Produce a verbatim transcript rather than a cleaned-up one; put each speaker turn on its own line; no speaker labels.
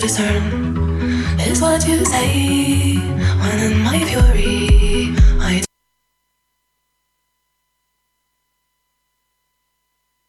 discern is what you say when in my fury